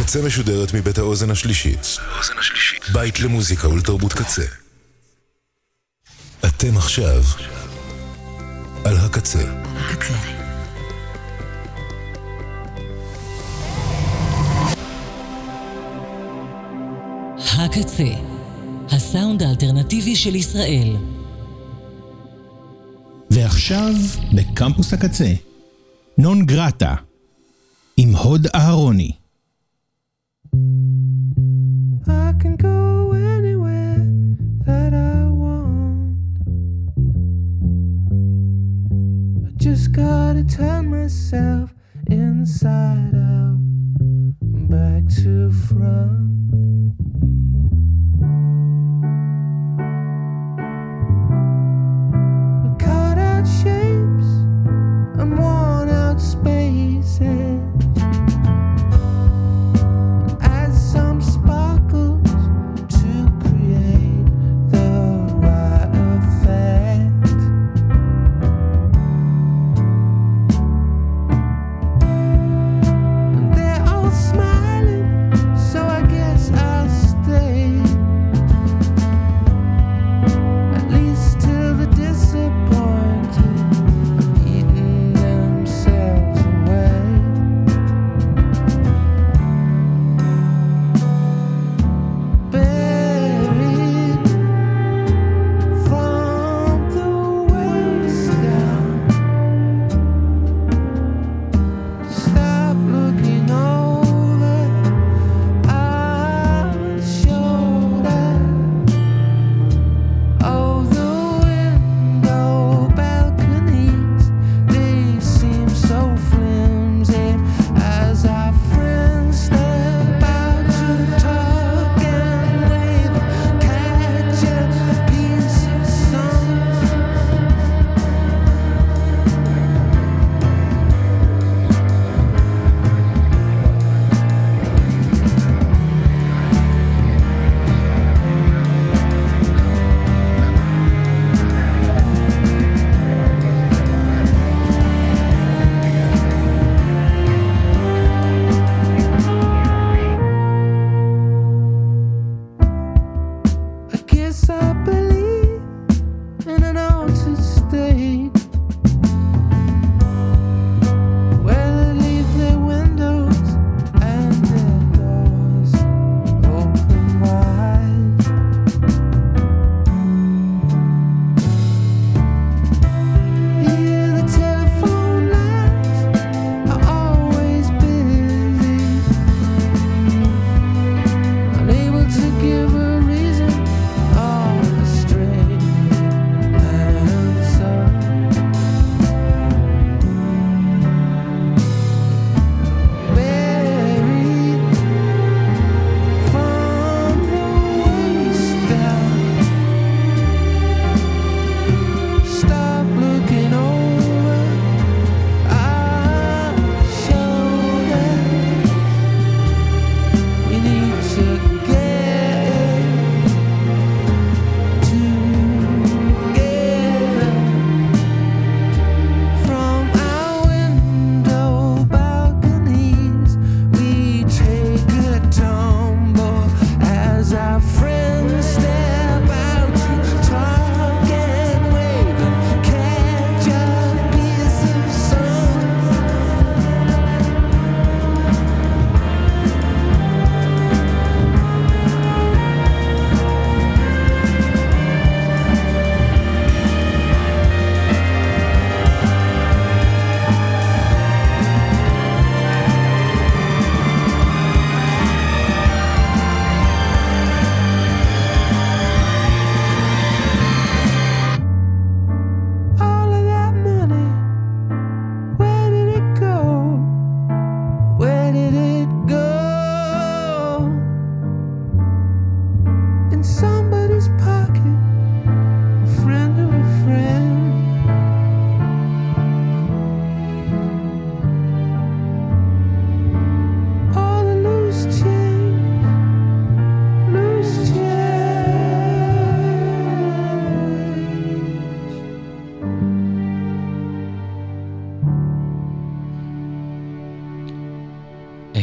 הקצה משודרת מבית האוזן השלישית. בית למוזיקה ולתרבות קצה. אתם עכשיו על הקצה. הקצה, הסאונד האלטרנטיבי של ישראל. ועכשיו בקמפוס הקצה, נון גרטה, עם הוד אהרוני. I can go anywhere that I want. I just gotta turn myself inside out and back to front. Cut out shapes and worn out spaces. Add some sparkles to create the right effect.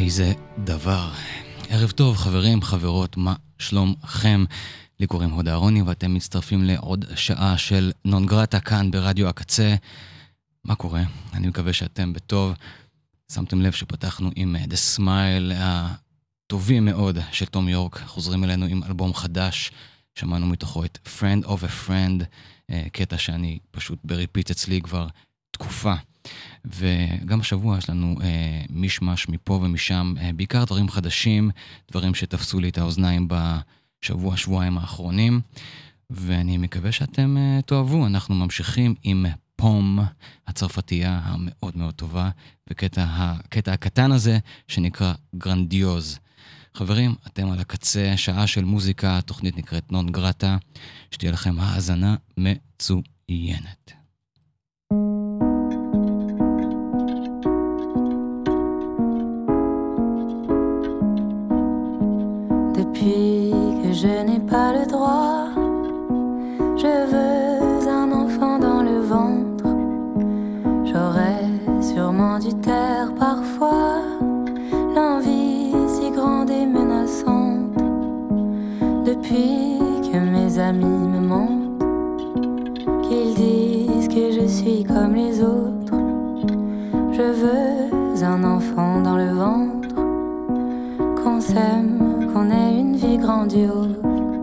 איזה דבר. ערב טוב חברים, חברות, מה שלומכם? לי קוראים הוד אהרוני ואתם מצטרפים לעוד שעה של נון גרטה כאן ברדיו הקצה. מה קורה? אני מקווה שאתם בטוב. שמתם לב שפתחנו עם The Smile הטובים מאוד של תום יורק. חוזרים אלינו עם אלבום חדש. שמענו מתוכו את Friend of a Friend, קטע שאני פשוט בריפיט אצלי כבר תקופה. וגם השבוע יש לנו משמש מפה ומשם, בעיקר דברים חדשים, דברים שתפסו לי את האוזניים בשבוע, שבועיים האחרונים, ואני מקווה שאתם תאהבו. אנחנו ממשיכים עם פום, הצרפתייה המאוד מאוד טובה, וקטע הקטן הזה שנקרא גרנדיוז. חברים, אתם על הקצה, שעה של מוזיקה, תוכנית נקראת נון גרטה, שתהיה לכם האזנה מצוינת. Depuis que je n'ai pas le droit, je veux un enfant dans le ventre. J'aurais sûrement dû taire parfois l'envie si grande et menaçante. Depuis que mes amis me mentent, qu'ils disent que je suis comme les autres, je veux un enfant dans le ventre, qu'on s'aime, qu'on ait une vie grandiose,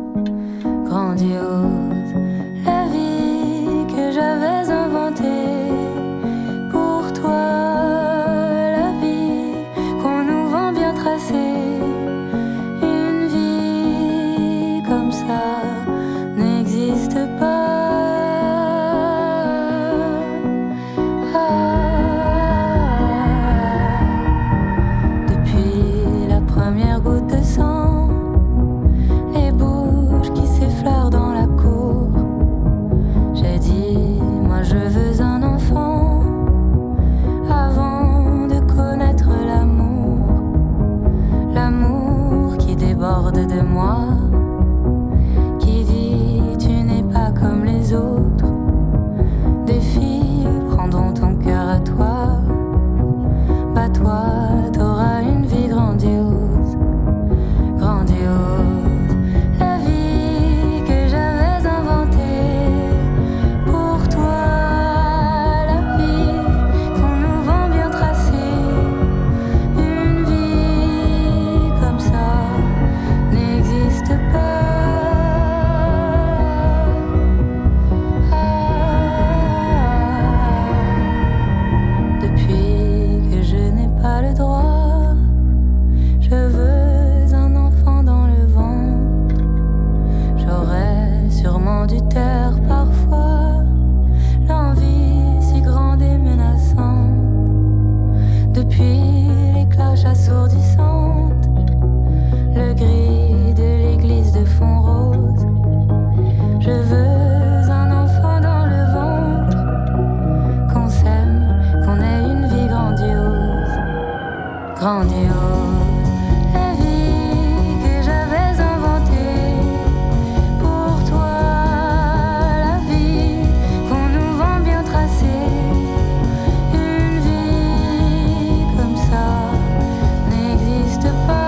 grandiose. La vie que j'avais inventée pour toi, la vie qu'on nous vend bien tracée. Une vie comme ça n'existe pas. De moi, qui dit tu n'es pas comme les autres. Des filles prendront ton cœur à toi. Bah toi, t'auras une vie grandiose, grandiose. La vie que j'avais inventée pour toi, la vie qu'on nous vend bien tracée. Une vie comme ça n'existe pas. Depuis que je n'ai pas le droit, je veux un enfant dans le ventre. J'aurais sûrement dû taire parfois l'envie si grande et menaçante. Depuis les cloches assourdissantes, le gris de l'église de fond rose, je veux un enfant dans le ventre, qu'on s'aime, qu'on ait une vie grandiose, grandiose. La vie que j'avais inventée pour toi, la vie qu'on nous vend bien tracée. Une vie comme ça n'existe pas.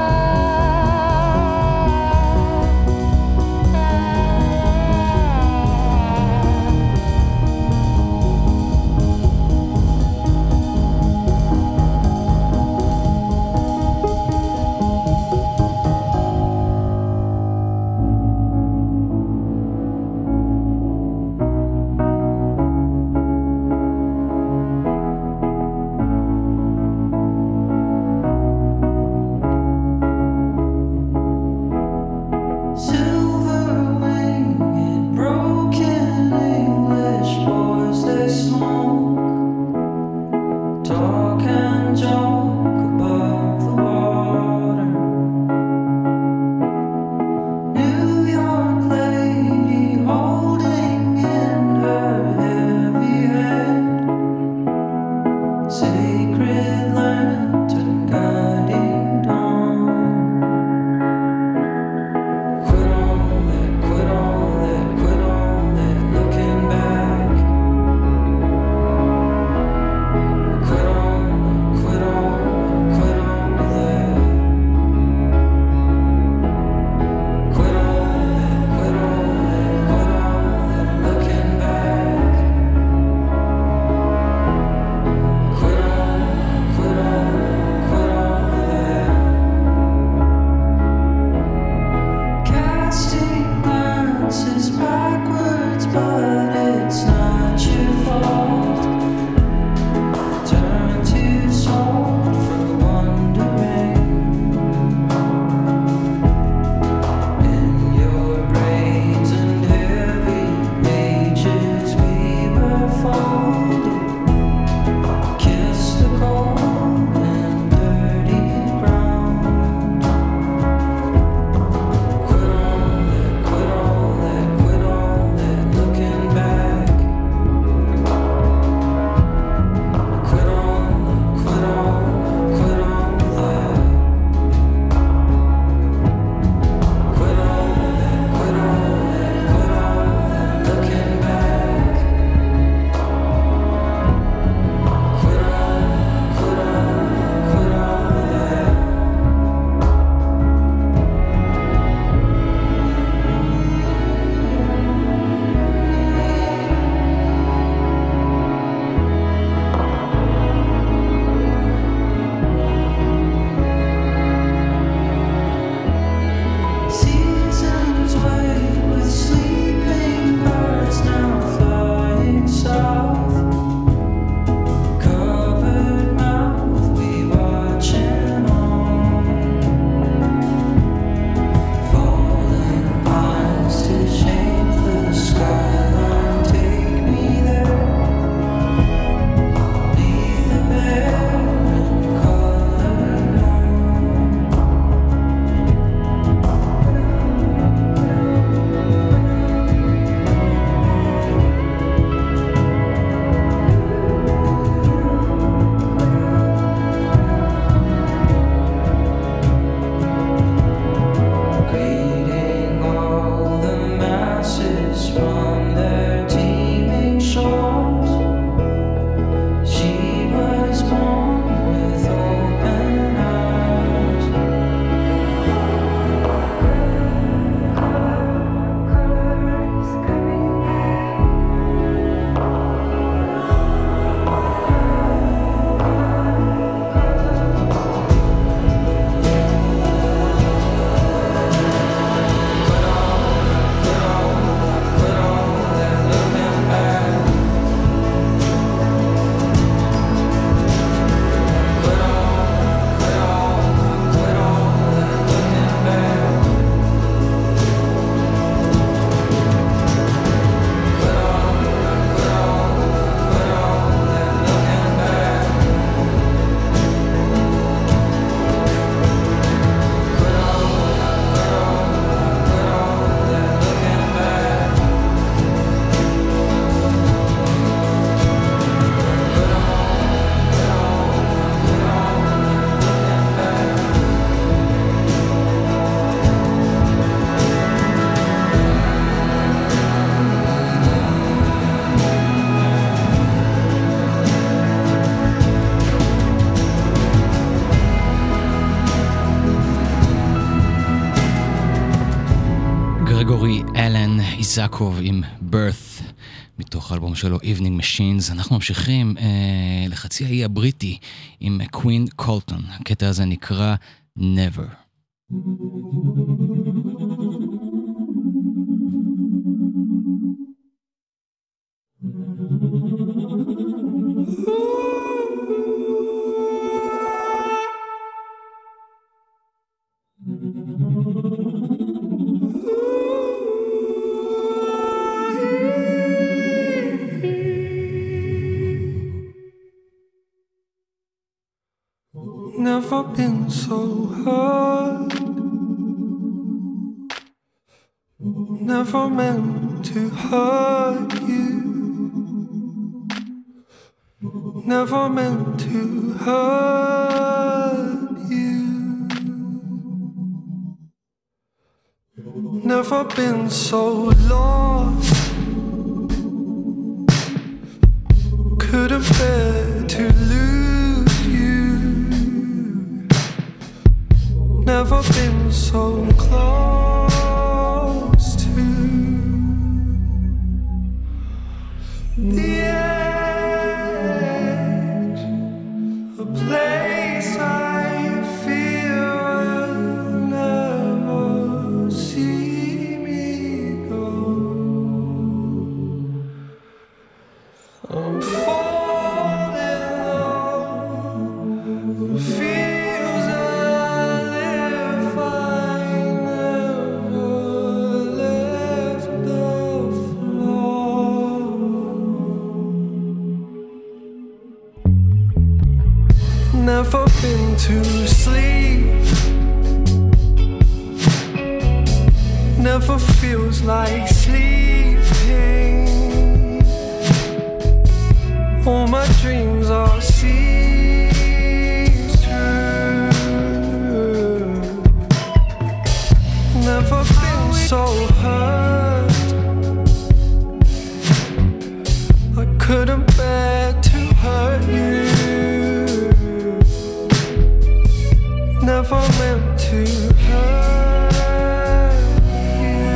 גריגורי אלן איזקוב עם birth מתוך האלבום שלו Evening Machines. אנחנו ממשיכים לחצי האי הבריטי עם קווין קולטון. הקטע הזה נקרא Never. Never been so hurt. Never meant to hurt you. Never meant to hurt you. Never been so lost. Couldn't bear to lose you. Never been so close to the edge, a place I feel will never see me go. I'm falling low, feels as if I never left the floor. Never been to sleep. Never feels like sleeping. All my dreams are seen through. Never been so hurt. I couldn't bear to hurt you. Never meant to hurt you.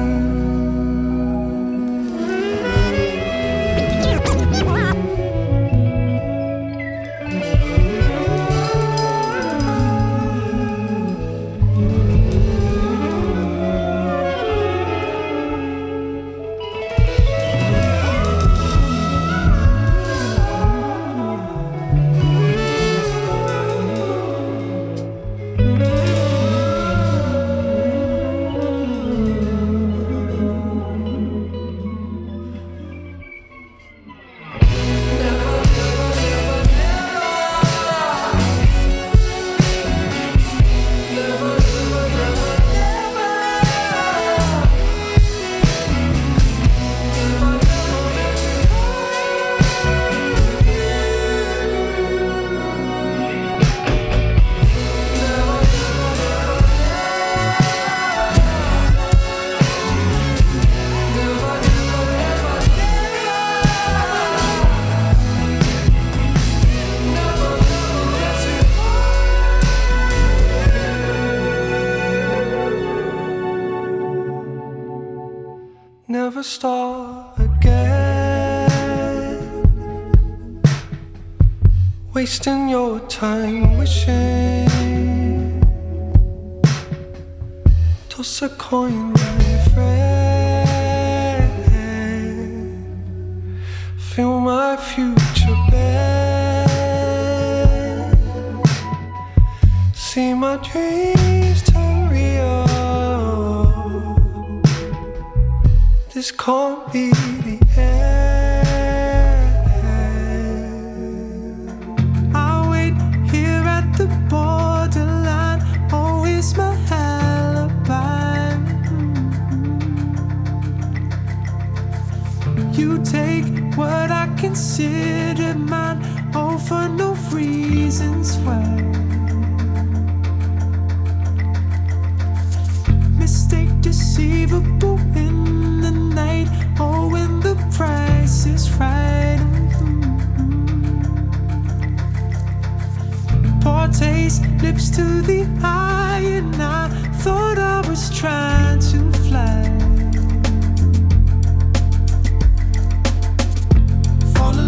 Never start again, wasting your time wishing. Toss a coin, my friend. Feel my future bend. See my dreams turn real. This can't be the end. I'll wait here at the borderline. Always my alibi. You take what I consider mine, all for no reasons why. Mistake deceivable in the night, oh, when the price is right. Poor taste, lips to the eye, and I thought I was trying to fly.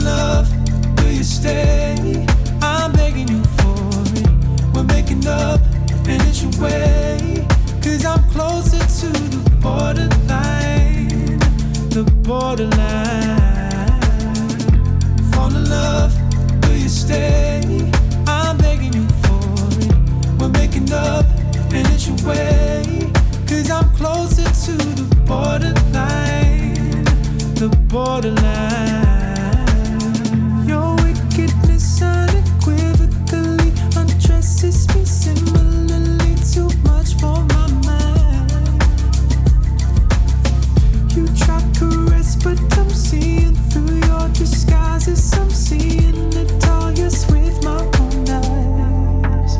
love, do you stay? I'm begging you for it. We're making up and it's your way. 'Cause I'm closer to the borderline. The borderline. Fall in love, do you stay? I'm begging you for it. We're making up and it's your way. 'Cause I'm closer to the borderline. The borderline. Your wickedness unequivocally undresses me similarly. Too much for my mind. You try caress, but I'm seeing through your disguises. I'm seeing it all, yes, with my own eyes.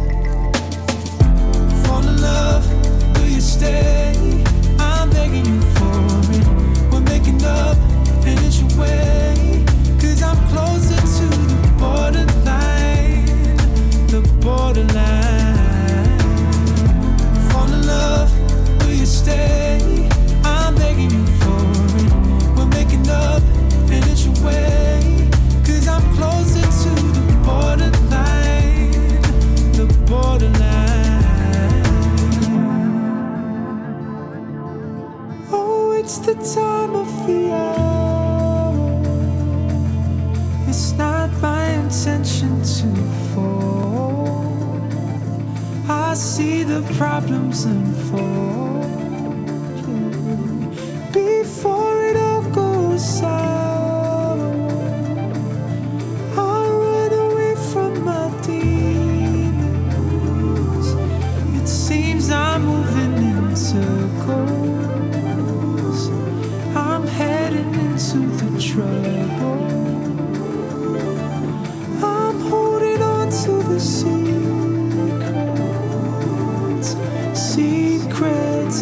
Fall in love, do you stay? I'm begging you for it. We're making up and it's your way. 'Cause I'm closer to the borderline. The borderline. Fall in love, do you stay? I'm begging you for it. We're making up and it's your way. 'Cause I'm closer to the borderline. The borderline. Oh, it's the time of the hour. It's not my intention to fall. I see the problems unfold before it all goes sour. I run away from my demons. It seems I'm moving in circles. I'm heading into the trouble. I'm holding on to the secrets, secrets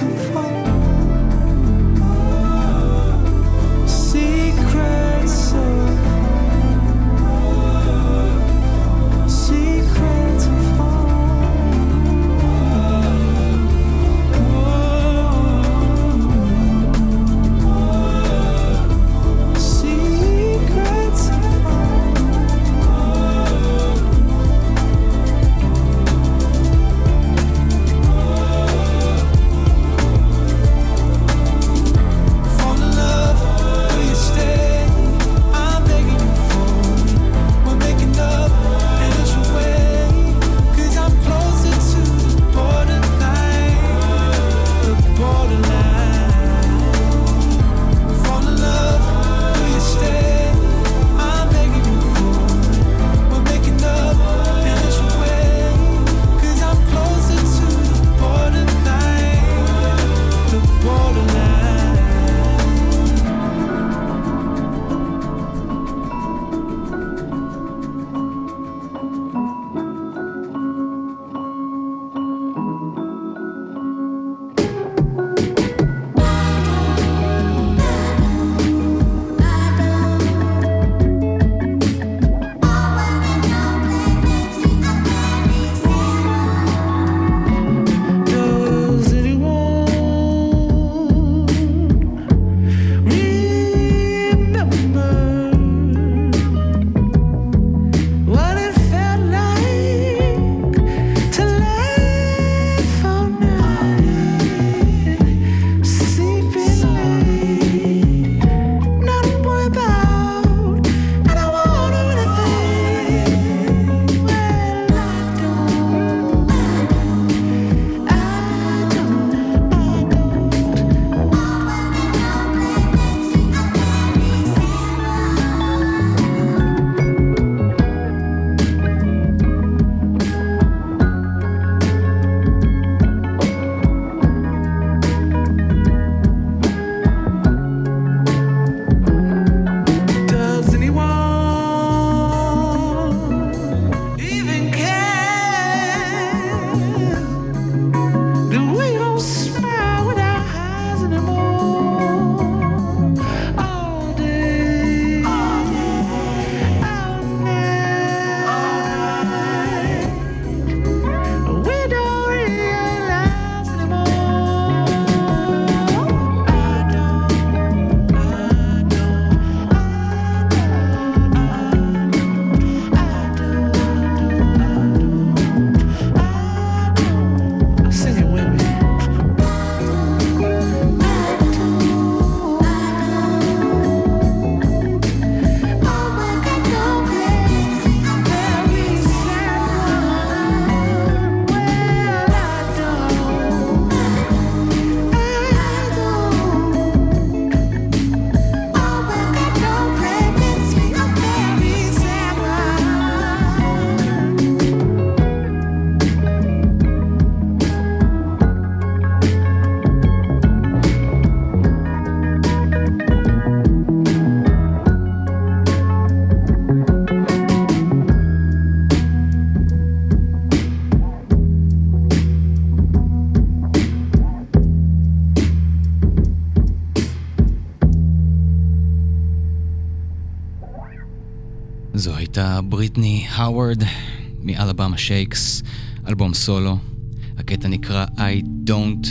הייתה בריטני האוורד מאלבמה שייקס, אלבום סולו. הקטע נקרא I Don't.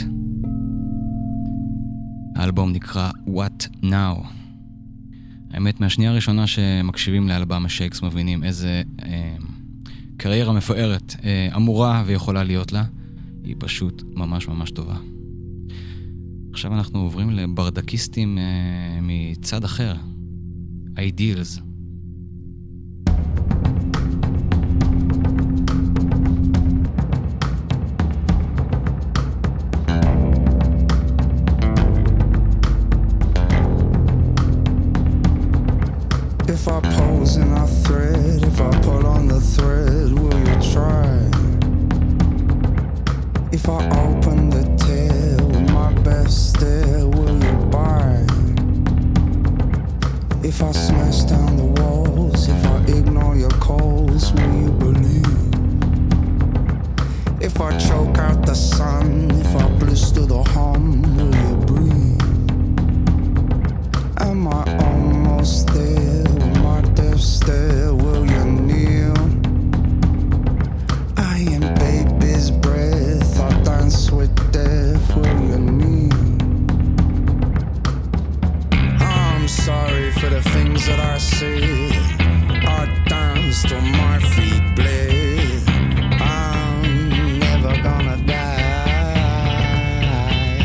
האלבום נקרא What Now. האמת, מהשנייה הראשונה שמקשיבים לאלבמה שייקס מבינים איזה קריירה מפוארת אמורה ויכולה להיות לה. היא פשוט ממש ממש טובה. עכשיו אנחנו עוברים לברדקיסטים מצד אחר. Ideals. If I pose in a thread, if I pull on the thread, will you try? If I open the tail with my best stare, will you buy? If I smash down the walls, if I ignore your calls, will you believe? If I choke out the sun, if I blister the hum, will you breathe? Am I almost there? With my death stare, will you kneel? I am baby's breath, I dance with death, will you kneel? I'm sorry for the things that I said, I dance till my feet bled. I'm never gonna die.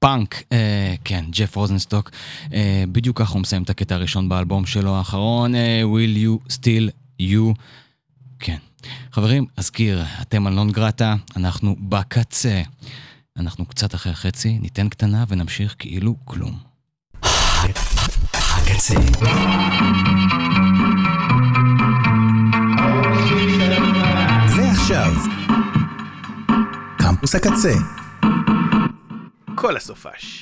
פאנק, כן, ג'ף רוזנסטוק, בדיוק כך הוא מסיים את הקטע הראשון באלבום שלו האחרון, Will You Still You, כן. חברים, אזכיר, אתם על נון גרטה, אנחנו בקצה, אנחנו קצת אחרי החצי, ניתן קטנה ונמשיך כאילו כלום. הקצה. ועכשיו, קמפוס הקצה. כל הסופש.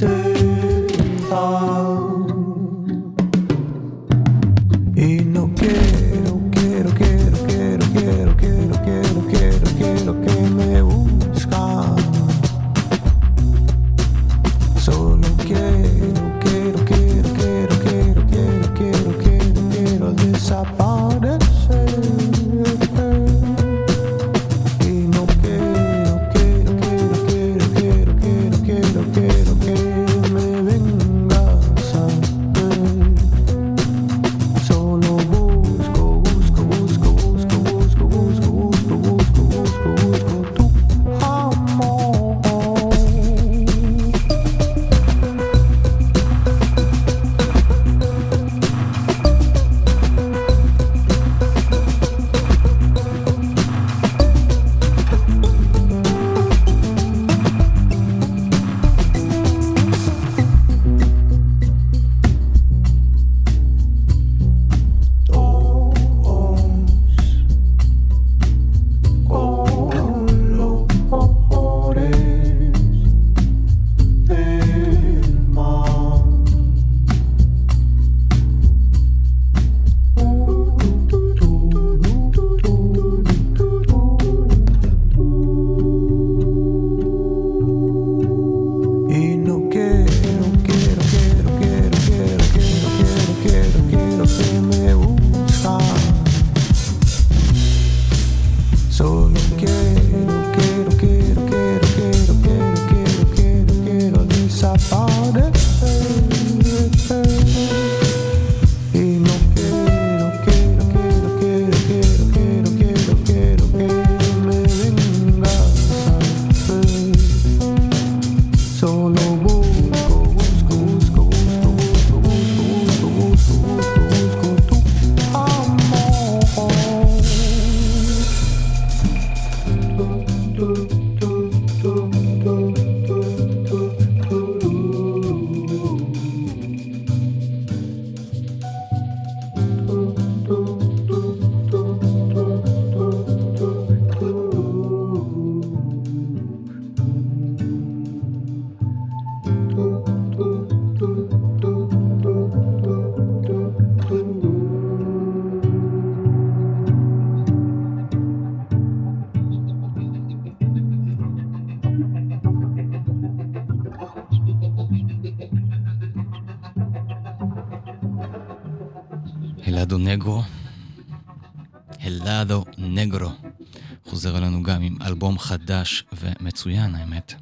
הלאדו נגרו חוזר אלינו גם עם אלבום חדש ומצוין האמת,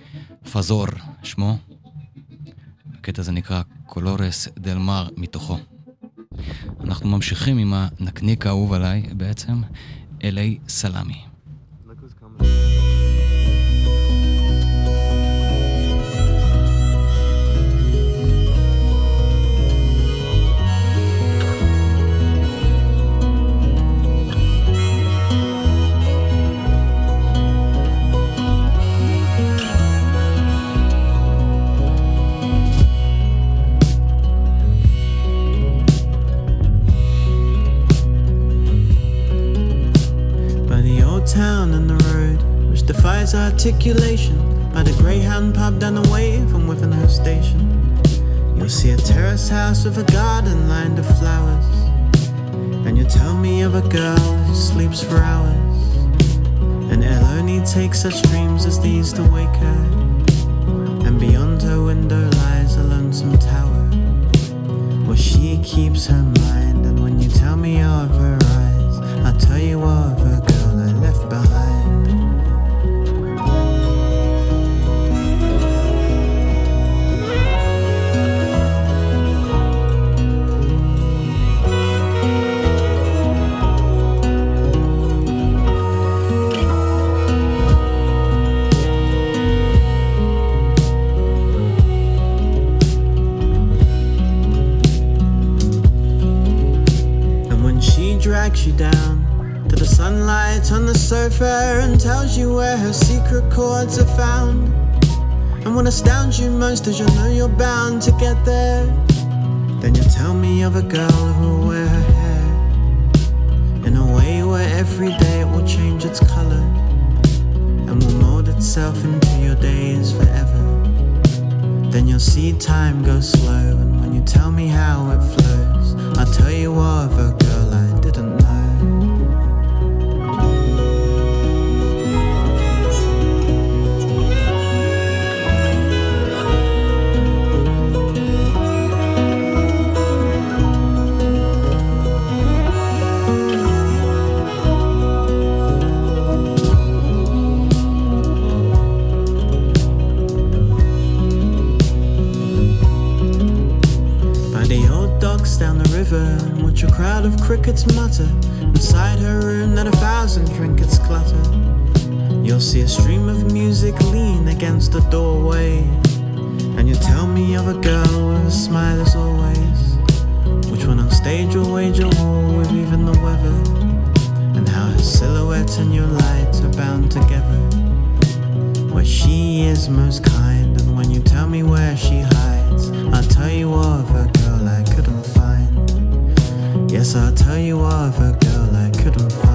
פזור שמו, הקטע הזה נקרא קולורס דל מר מתוכו. אנחנו ממשיכים עם הנקניק האהוב עליי בעצם, אלי סלמי. Town and the road which defies articulation, by the Greyhound pub down the way from within her station, you'll see a terrace house with a garden lined with flowers, and you tell me of a girl who sleeps for hours, and it'll only take such dreams as these to wake her, and beyond her window lies a lonesome tower where she keeps her mind. And when you tell me of her eyes, I'll tell you of a girl I left behind. And when she drags you down to the sunlight on the sofa and tells you where her secret chords are found, and what astounds you most is you know you're bound to get there, then you tell me of a girl who will wear her hair in a way where every day it will change its color and will mold itself into your days forever. then you'll see time go slow. And when you tell me how it flows, I'll tell you of a girl I didn't know. Down the river and watch a crowd of crickets mutter inside her room that 1,000 trinkets clutter. You'll see a stream of music lean against the doorway, and you tell me of a girl with a smile as always, which when on stage will wage a war with even the weather, and how her silhouette and your light are bound together, where she is most kind. And when you tell me where she hides, I'll tell you of a girl I couldn't find. Yes, I'll tell you of a girl I couldn't find.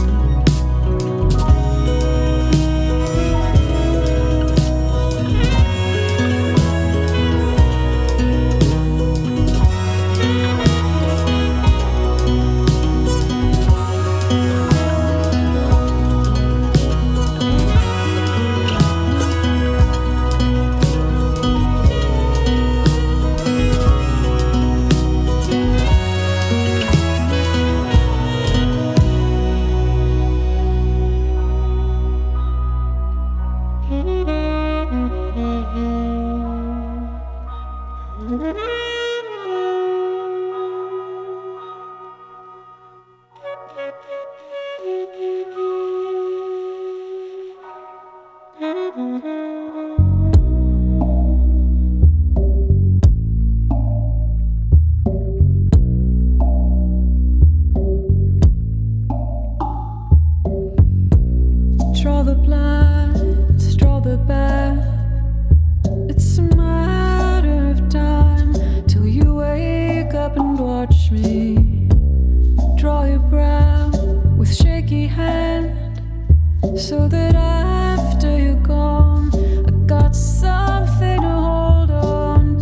Draw the blinds, draw the bath. It's a matter of time till you wake up and watch me. Draw your brow with shaky hand, so that after you're gone, I got something to hold on.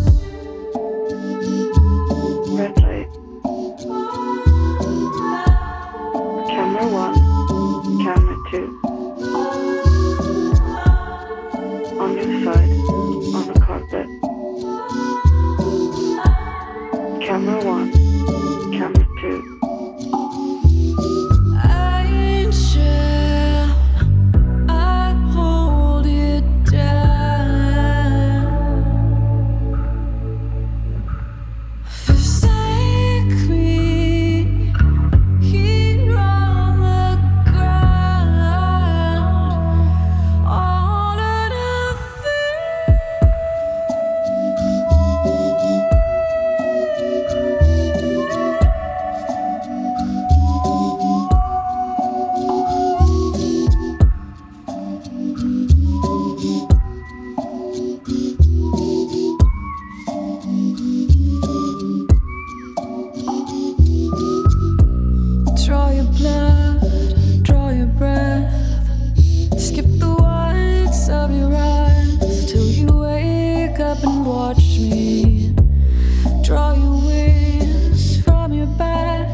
Red light. Camera 1, camera 2. On your side, on the carpet. Camera 1, camera 2. Angel, I hold you down. Forsake me here on the ground. All of draw your blood, draw your breath. Skip the whites of your eyes till you wake up and watch me. Draw your wings from your back.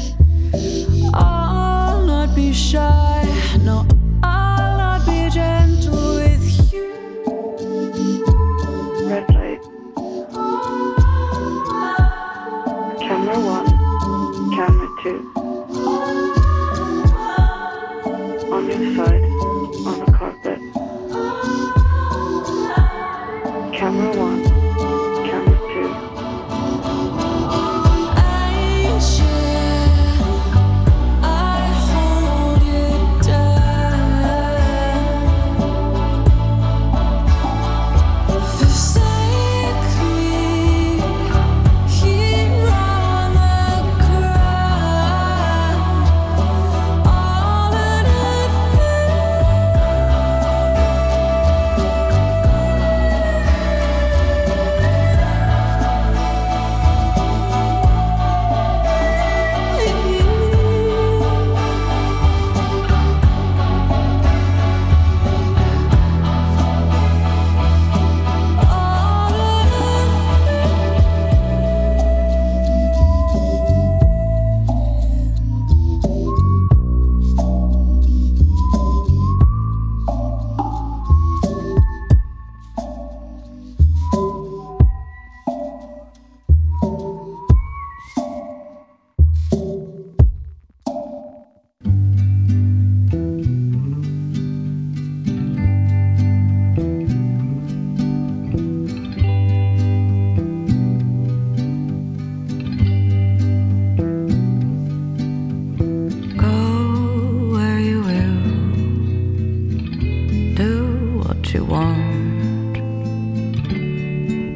I'll not be shy, no, I'll not be gentle with you. Red light. Camera 1, camera 2. On your side, on the carpet. Camera 1, camera 2. I hold you down. Forsake me here on the ground.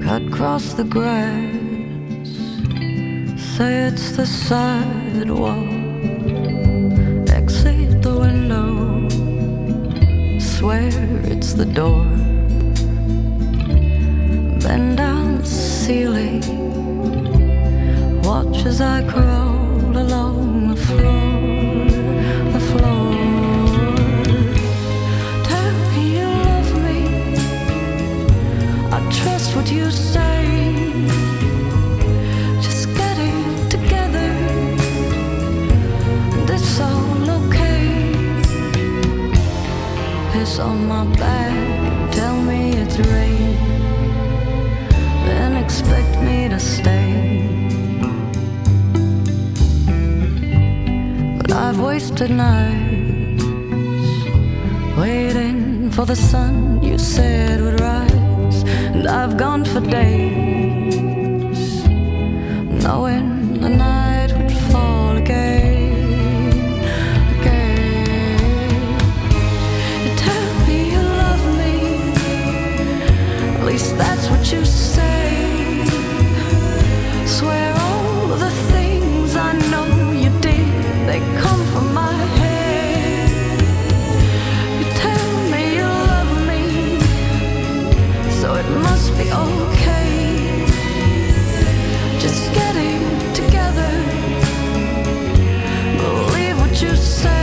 cut across the grass. Say it's the sidewalk. Exit the window. Swear it's the door. Bend down the ceiling. Watch as I crawl along the floor, the floor. Tell me you love me. I trust what you say. Just get it together. And it's all okay. Piss on my back. Tell me it's rain. Then expect me to stay. I've wasted nights waiting for the sun you said would rise, and I've gone for days knowing the night would fall again, again. You tell me you love me, at least that's what you say. Swear all the things I know you did, they come from my head. You tell me you love me, so it must be okay. Just getting together, believe what you say.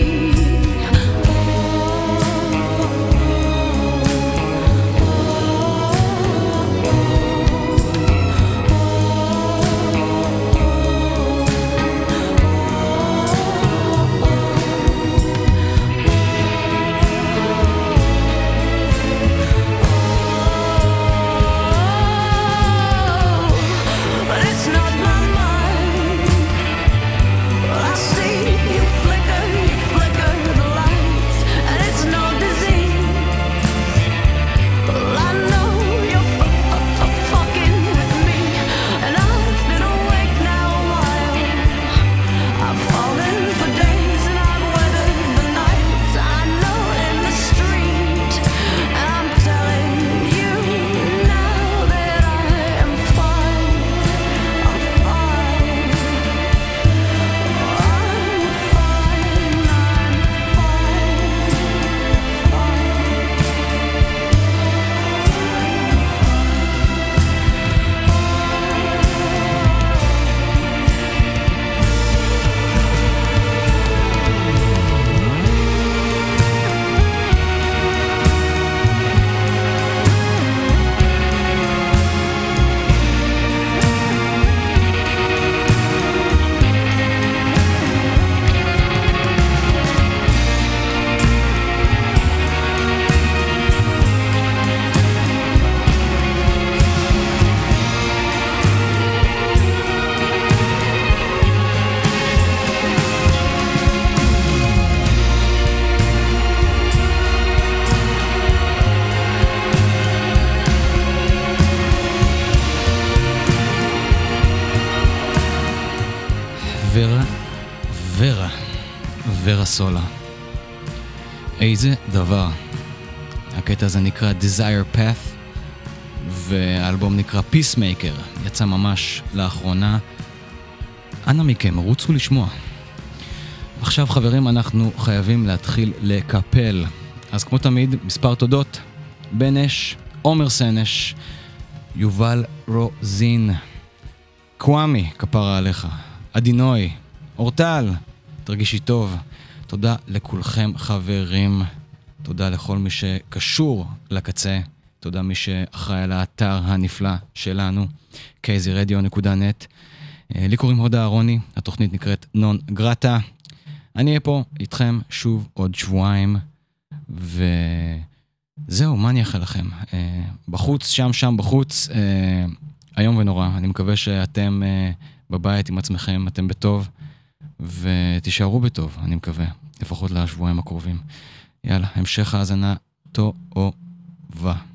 ורה סולה. איזה דבר. הקטע הזה נקרא Desire Path, והאלבום נקרא Peacemaker, יצא ממש לאחרונה. אנא מכם, רוצו לשמוע. עכשיו חברים, אנחנו חייבים להתחיל לקפל. אז כמו תמיד, מספר תודות: בן אש, עומר סנש, יובל רוזין, קוואמי, כפרה עליך, אדינוי, אורטל, תרגישי טוב. תודה לכולכם חברים, תודה לכל מי שקשור לקצה, תודה מי שאחראי על האתר הנפלא שלנו, kzradio.net. לי קוראים הוד אהרוני, התוכנית נקראת נון גרטה. אני אהיה פה איתכם שוב עוד שבועיים, וזהו, מה אני אאחל לכם? בחוץ, שם בחוץ, היום ונורא. אני מקווה שאתם בבית עם עצמכם, אתם בטוב, ותישארו בטוב, אני מקווה, לפחות לשבועיים הקרובים. יאללה, המשך האזנה טובה.